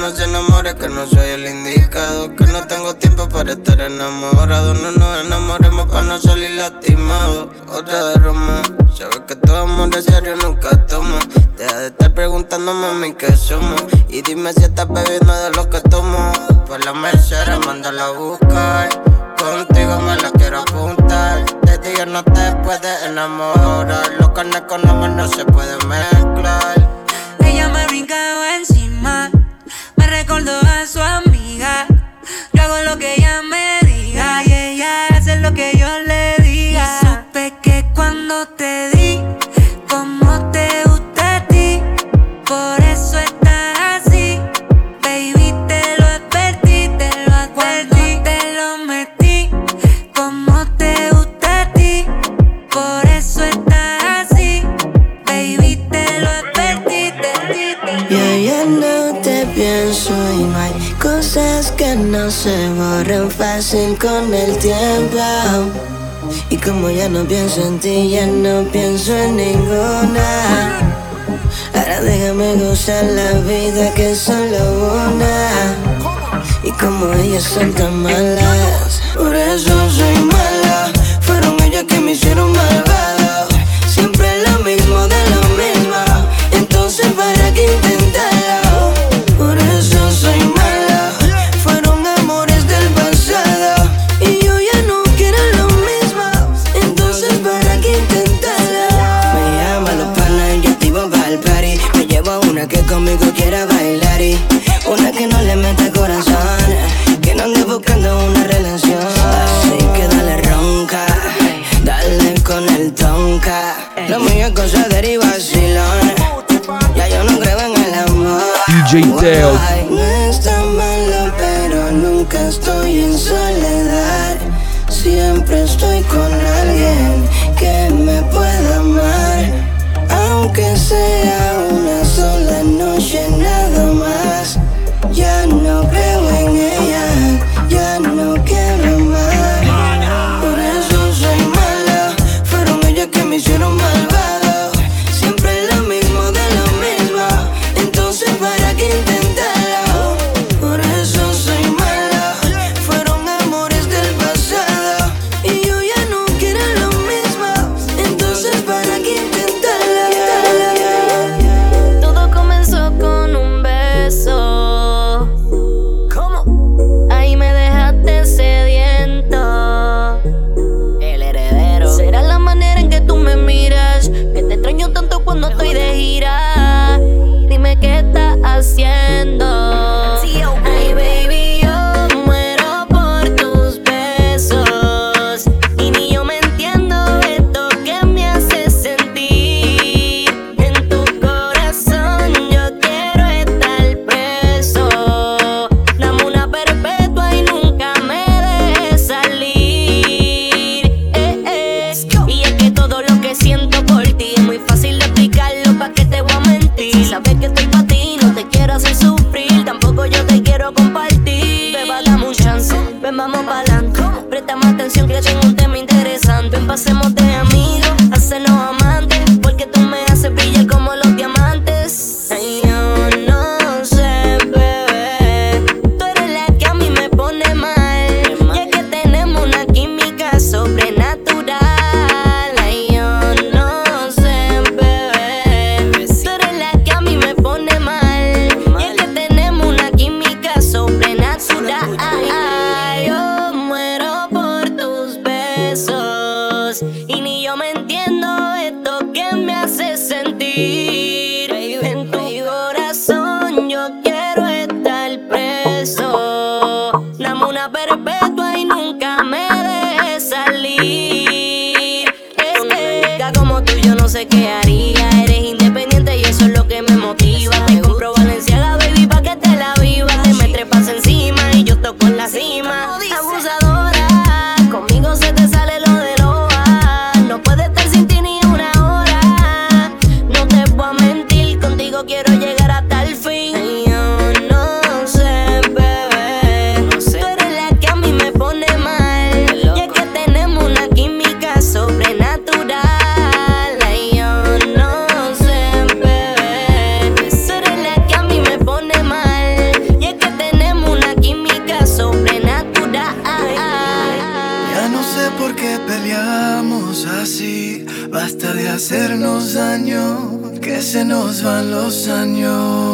no se enamore, que no soy el indicado, que no tengo tiempo para estar enamorado. No nos enamoremos para no salir lastimados. Otra de Roma, sabes que todo amor de serio nunca toma. Deja de estar preguntándome a mí qué somos, y dime si estás bebiendo de lo que tomo. Por la Mercedes, mándala a buscar, contigo me la quiero apuntar. De día no te puedes enamorar, los carnes con amor no se pueden mezclar. Ella me brincaba encima, me recordó a su amiga. Yo hago lo que ella me diga y ella hace lo que yo le diga. Y supe que cuando te di, como te gusta a ti, por eso estás así. Baby, te lo advertí, te lo advertí. Cuando te lo metí, como te gusta a ti, por eso estás así. Baby, te lo advertí, Yo ya no te pienso y no hay cosas que no se borran fácil con el tiempo. Y como ya no pienso en ti, ya no pienso en ninguna. Ahora déjame gozar la vida que es solo una. Y como ellas son tan malas, por eso soy mala. Fueron ellas que me hicieron malvado. Siempre lo mismo de lo mismo, entonces para qué intentarlo. Por eso soy mala. Fueron amores del pasado y yo ya no quiero lo mismo, entonces para qué intentarlo. Me llama los panas y yo activo para el party. Me llevo a una que conmigo quiera bailar y una que no le mete corazón, que no ande buscando una relación. Así que dale ronca, dale con el tonka. La mía cosa deriva vacilón, ya yo no creo en el amor. DJ Teo. No está malo, pero nunca estoy en soledad. Siempre estoy con alguien que me pueda amar, aunque sea una sola noche nada más. Ya no creo en ella, ya no quiero más. Por eso soy mala. Fueron ellas que me hicieron malvado. Siempre lo mismo de lo mismo, entonces para qué intentarlo. Por eso soy mala. Fueron amores del pasado y yo ya no quiero lo mismo, entonces para qué intentarlo. Todo comenzó con un beso. Ahí me dejaste sediento. El heredero. Será la manera en que tú me miras, que te extraño tanto cuando estoy de gira. Dime qué estás haciendo. Ay, baby, yo muero por tus besos y ni yo me entiendo esto que me hace sentir. En tu corazón yo quiero estar preso. Dame una perpetua y nunca me dejes salir. Y es que todo lo que siento por ti es muy fácil de explicarlo, pa' que te voy a mentir. Si sabes que estoy pa' ti, no te quiero hacer sufrir, tampoco yo te quiero compartir. Beba, dame un chance, ven, vamos pa'lante. Préstame atención que tengo un tema interesante. Ven, pasemos de amigos a hacernos amantes, porque tú me haces brillar como los diamantes. Ay, yo no sé, bebé, tú eres la que a mí me pone mal, ya que tenemos una química sobrenatural. Ay, yo no sé, bebé, tú eres la que a mí me pone mal, ya que tenemos una química sobrenatural. Yo muero por tus besos y ni yo me entiendo esto que me hace sentir. En tu corazón yo quiero estar preso. Dame una perpetua y nunca me dejes salir. Única como tú yo no sé qué haría. Eres independiente y eso es lo que me motiva. Te compro Valenciaga, baby, pa' que te la viva. Te me trepas encima y yo toco en la cima. Abusadora, conmigo se te sale lo de loa. No puedes estar sin ti ni una hora. No te voy a mentir, contigo quiero llegar hasta el fin. Ay, yo no sé, bebé, tú eres la que a mí me pone mal, ya que tenemos una química sobrenatural. Ay, yo no por qué peleamos así. Basta de hacernos daño, que se nos van los años.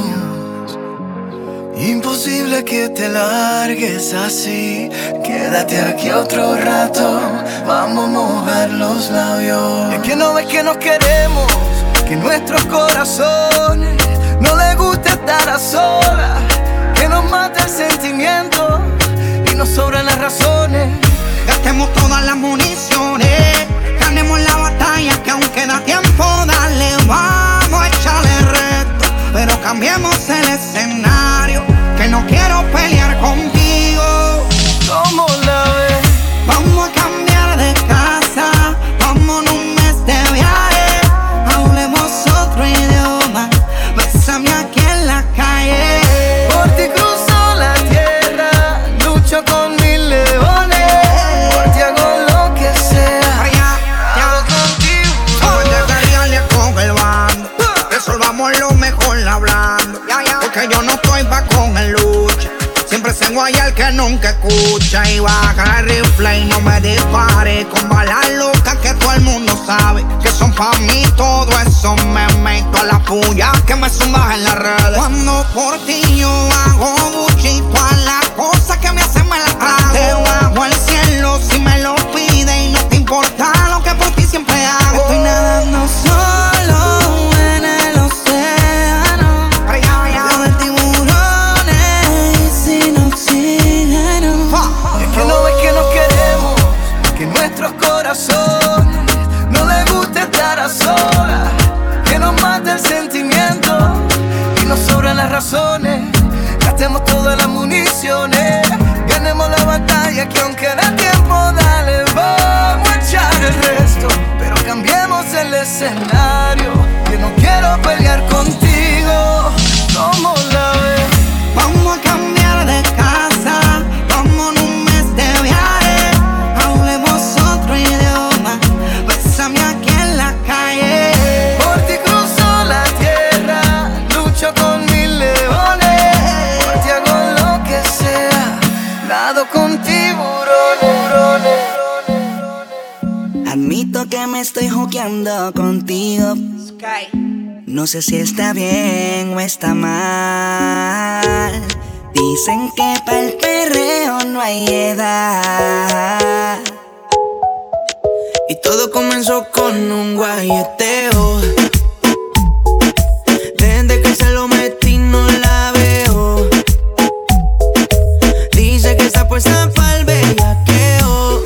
Imposible que te largues así. Quédate aquí otro rato, vamos a mojar los labios. Es que no ves que nos queremos, que nuestros corazones no les gusta estar a solas, que nos mata el sentimiento y nos sobran las razones. Gastemos todas las municiones, ganemos la batalla que aún queda tiempo. Dale, vamos a echarle reto, pero cambiemos el escenario, que no quiero pelear contigo. ¿Cómo la ves? Vamos a cambiar de casa, vámonos un mes de viaje, hablemos otro idioma, bésame aquí en la calle. Por ti cruzo la tierra, lucho con mil leones, por ti hago lo que sea, hago contigo. Después de pelearle con el bando, resolvamos lo mejor hablando, porque yo no estoy pa' con el lucha. Siempre se guaya el que nunca escucha, y baja el rifle y no me dispare con balas locas que todo el mundo sabe que son pa' mí. Todo eso me meto a la puya que me zumbas en las redes. Cuando por ti yo hago buchito a las cosas que me hacen me las trago. Debajo el cielo si me lo pide y no te importa lo que por ti siempre hago. Estoy nadando solo en el océano, rodeado de tiburones y sin oxígeno. Es que no ves que nos queremos, que nuestros corazones no les gusta estar a solas, que nos mata el sentimiento y nos sobran las razones. Gastemos todas las municiones, ganemos la batalla que aún queda tiempo. Dale, vamos a echar el resto, pero cambiemos el escenario, que no quiero pelear contigo. ¿Cómo la ves? Vamos a cambiar de casa, vámonos un mes de viaje, hablemos otro idioma, bésame aquí en la calle. Por ti cruzo la tierra, lucho con mil leones, por ti hago lo que sea, nado con tiburones. Admito que me estoy jugueando contigo. No sé si está bien o está mal. Dicen que para el perreo no hay edad. Y todo comenzó con un guayeteo. Desde que se lo metí no la veo. Dice que está puesta pa'l bellaqueo.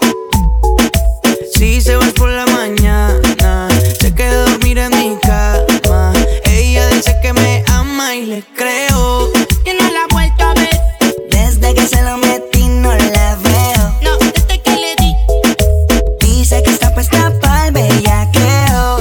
Si se va por la mañana, se queda a dormir en mi cama. Ella dice que me ama y le creo. Que no la he vuelto a ver. Desde que se lo metí no la veo. No, desde que le di. Dice que está puesta pa'l bellaqueo.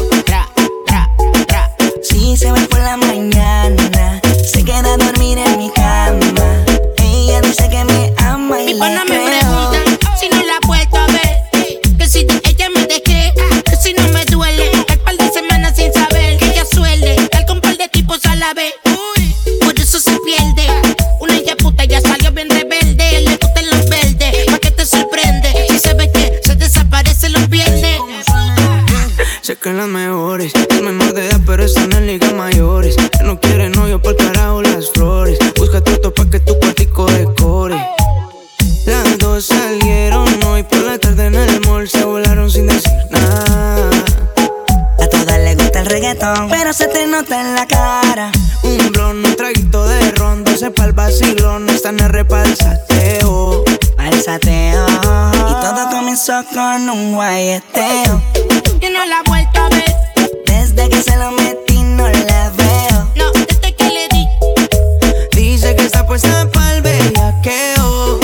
Si se va por la mañana, se queda a dormir en mi cama. Ella dice que me ama y Mi pana le me creo. preguntan si no la he vuelto a ver. Que si de ella me dejé, que si no me duele. El par de semanas sin saber que ella suele estar con par de tipos a la vez. Por eso se pierde. Una ella puta ya salió bien rebelde. Le gustan los verdes, pa' que te sorprende. Si se ve que se desaparece los viernes. Sé que las mejores es menor de edad, pero están en ligas mayores. Que no quiere novio por carajo las flores. Busca toto pa' que tu cuartico decore. Las dos salieron hoy por la tarde en el mall. Se volaron sin decir nada. A todas les gusta el reggaetón, pero se te nota en la cara. Un blon, un traguito de ron, 12 pa'l vacilón. Están R pa'l sateo. Pa'l sateo. Y todo comenzó con un guayeteo. Que no la he vuelto a ver. Desde que se lo metí no la veo. No, desde que le di. Dice que está puesta pa'l bellaqueo.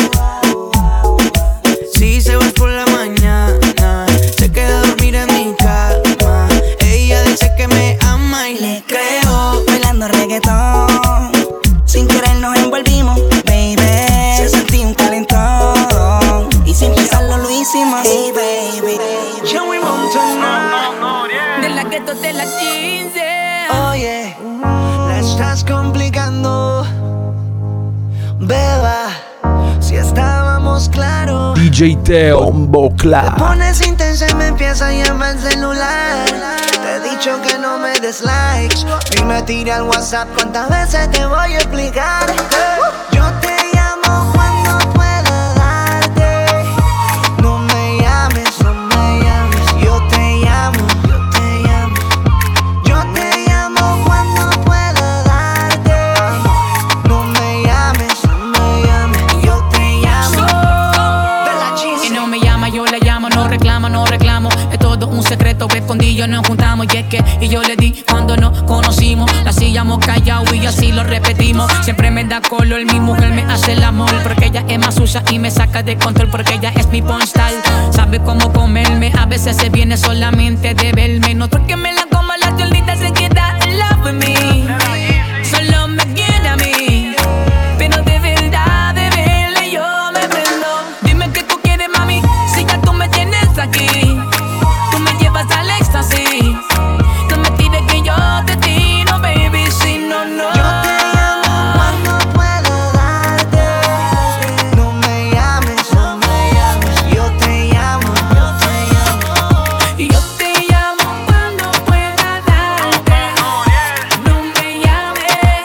Si se va por la mañana, se queda a dormir en mi cama. Ella dice que me ama y le creo. Bailando reggaetón, sin querer nos envolvimos, baby. Se sentí un calentón y sin pensarlo lo hicimos. Hey, baby. Joey Montana, De la gueto de la 15. oye, la estás complicando, beba. Si estábamos hablamos claro. DJ Teo, Bombo Te Clap. pones intensa y me empieza a llamar el celular. Te he dicho que no me des likes. Y me tiré al WhatsApp. ¿Cuántas veces te voy a explicar? Yo te llamo cuando pueda darte. No me llames, no me llames. Yo te llamo, yo te llamo. Yo te llamo cuando pueda darte. No me llames, no me llames. Yo te llamo. Y no me llama, yo la llamo, no reclamo, no reclamo. Es todo un secreto que escondido nos juntamos. Y es que, y yo le di cuando nos conocimos. La hacíamos callado y así lo repetimos. Siempre me da color, mi mujer me hace el amor. Porque ella es más sucia y me saca de control. Porque ella es mi porn style. Sabe cómo comerme, a veces se viene solamente de verme. No porque me la coma la chulita, se queda in love with me. Solo me quiere a mí. Pero de verdad, de verle yo me prendo. Dime qué tú quieres, mami, si ya tú me tienes aquí. Tú me llevas al éxtasis. No me tires que yo te tiro, baby, si no, no. Yo te llamo cuando pueda darte. No me llames, no me llames. Yo te llamo, yo te llamo. Y yo te llamo cuando pueda darte. No me llames.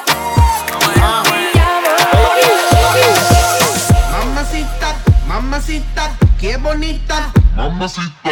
Mamacita, mamacita, qué bonita. Mamacita.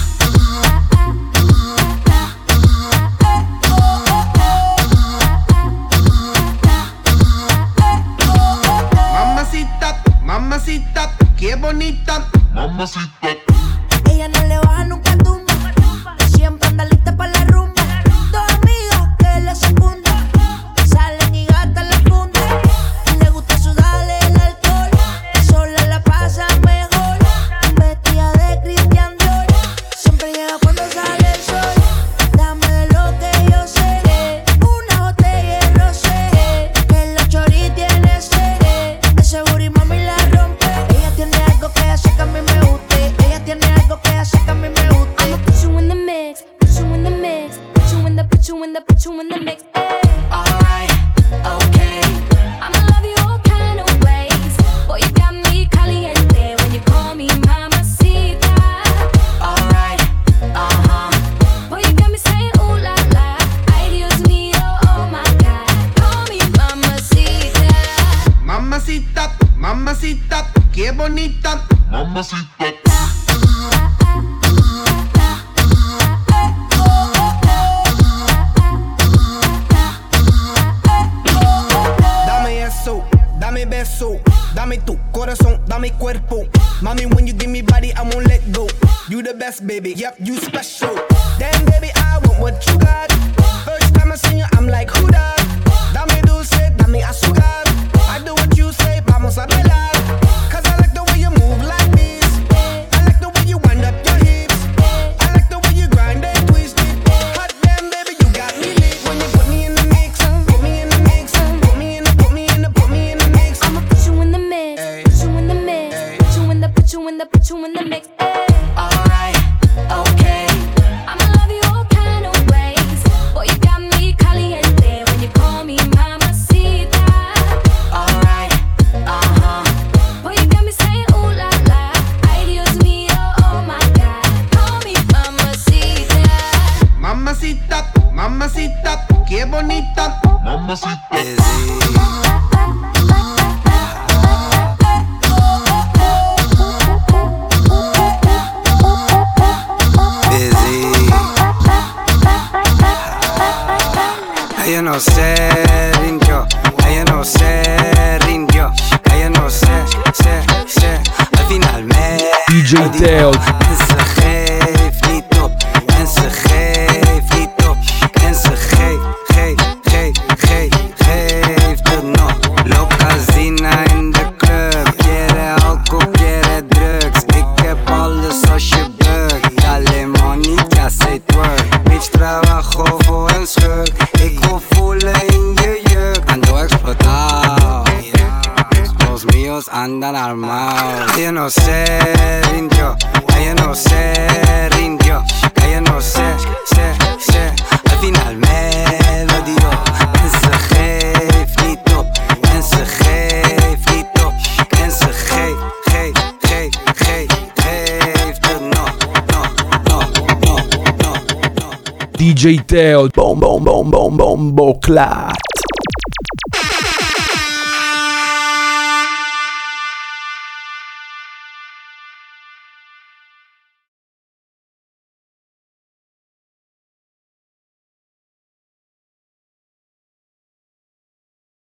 Mamacita, mamacita, qué bonita. Mamacita. Ella no le baja nunca tumba. Siempre anda lista para la rumba. Dos amigas que le secundan. Salen y gastan la funda. Le gusta sudarle el alcohol. Sola la pasa mejor. Vestida de Christian Dior. Siempre llega cuando sale el sol. Dame de lo que yo sé. Una botella de rosé. Que la chori tiene sed. De seguro y mami la rompe. Ella tiene algo que hace que a mí me guste. Ella tiene algo que hace que a mí me guste. I'ma put you in the mix, put you in the mix, put you in the, put you in the, put you in the mix. Alright, okay. I'ma love you all kind of ways. Boy, you got me caliente when you call me mamacita. Alright, Boy, you got me saying ooh la la. Ay, Dios mío, oh my God. Call me mamacita. Mamacita, mamacita, qué bonita. Mamacita. Dame eso, dame beso, dame tu corazón, dame cuerpo. Mami, when you give me body, I won't let go. You the best, baby, yep, you special. Damn, baby, I want what you got. First time I seen you, I'm like, who that? Dame dulce, dame azúcar. I do what you say, vamos a bailar. Cause I like the way you move like this. I like the way you wind up your hips. I like the way you grind and twist it. Hot damn, baby, you got me lit. When you put me in the mix, put me in the mix, put me in the, put me in the, put me in the mix. I'ma put you in the mix, put you in the mix, put you in the, put you in the, put you in the mix. alright, okay. I'ma love you all kind of ways. Boy, you got me caliente when you call me mamacita. Alright, Boy, you got me saying ooh la la. Ay, Dios mío, oh my God. Call me mamacita. Mamacita, mamacita, qué bonita. Mamacita. Ella no se rindió, ella no se rindió, ella no se, al final me DJ Teo. En ze geeft niet op, en ze geeft niet op, en ze geeft het nog. Locazina in de club, quiere alcohol, quiere drugs. Ik heb alles als je bukt, dale money, ya se twerk. Bitch, trabajo voor een schurk, ik wil voelen in je jurk. Ando explotado, los míos andan armados. Ella no se rindió, ella no se rindió, ella no se, al final me lo dio. En ze geeft niet op, en ze geeft niet op, en ze geeft DJ Teo, bom bom bom bom bom bocla.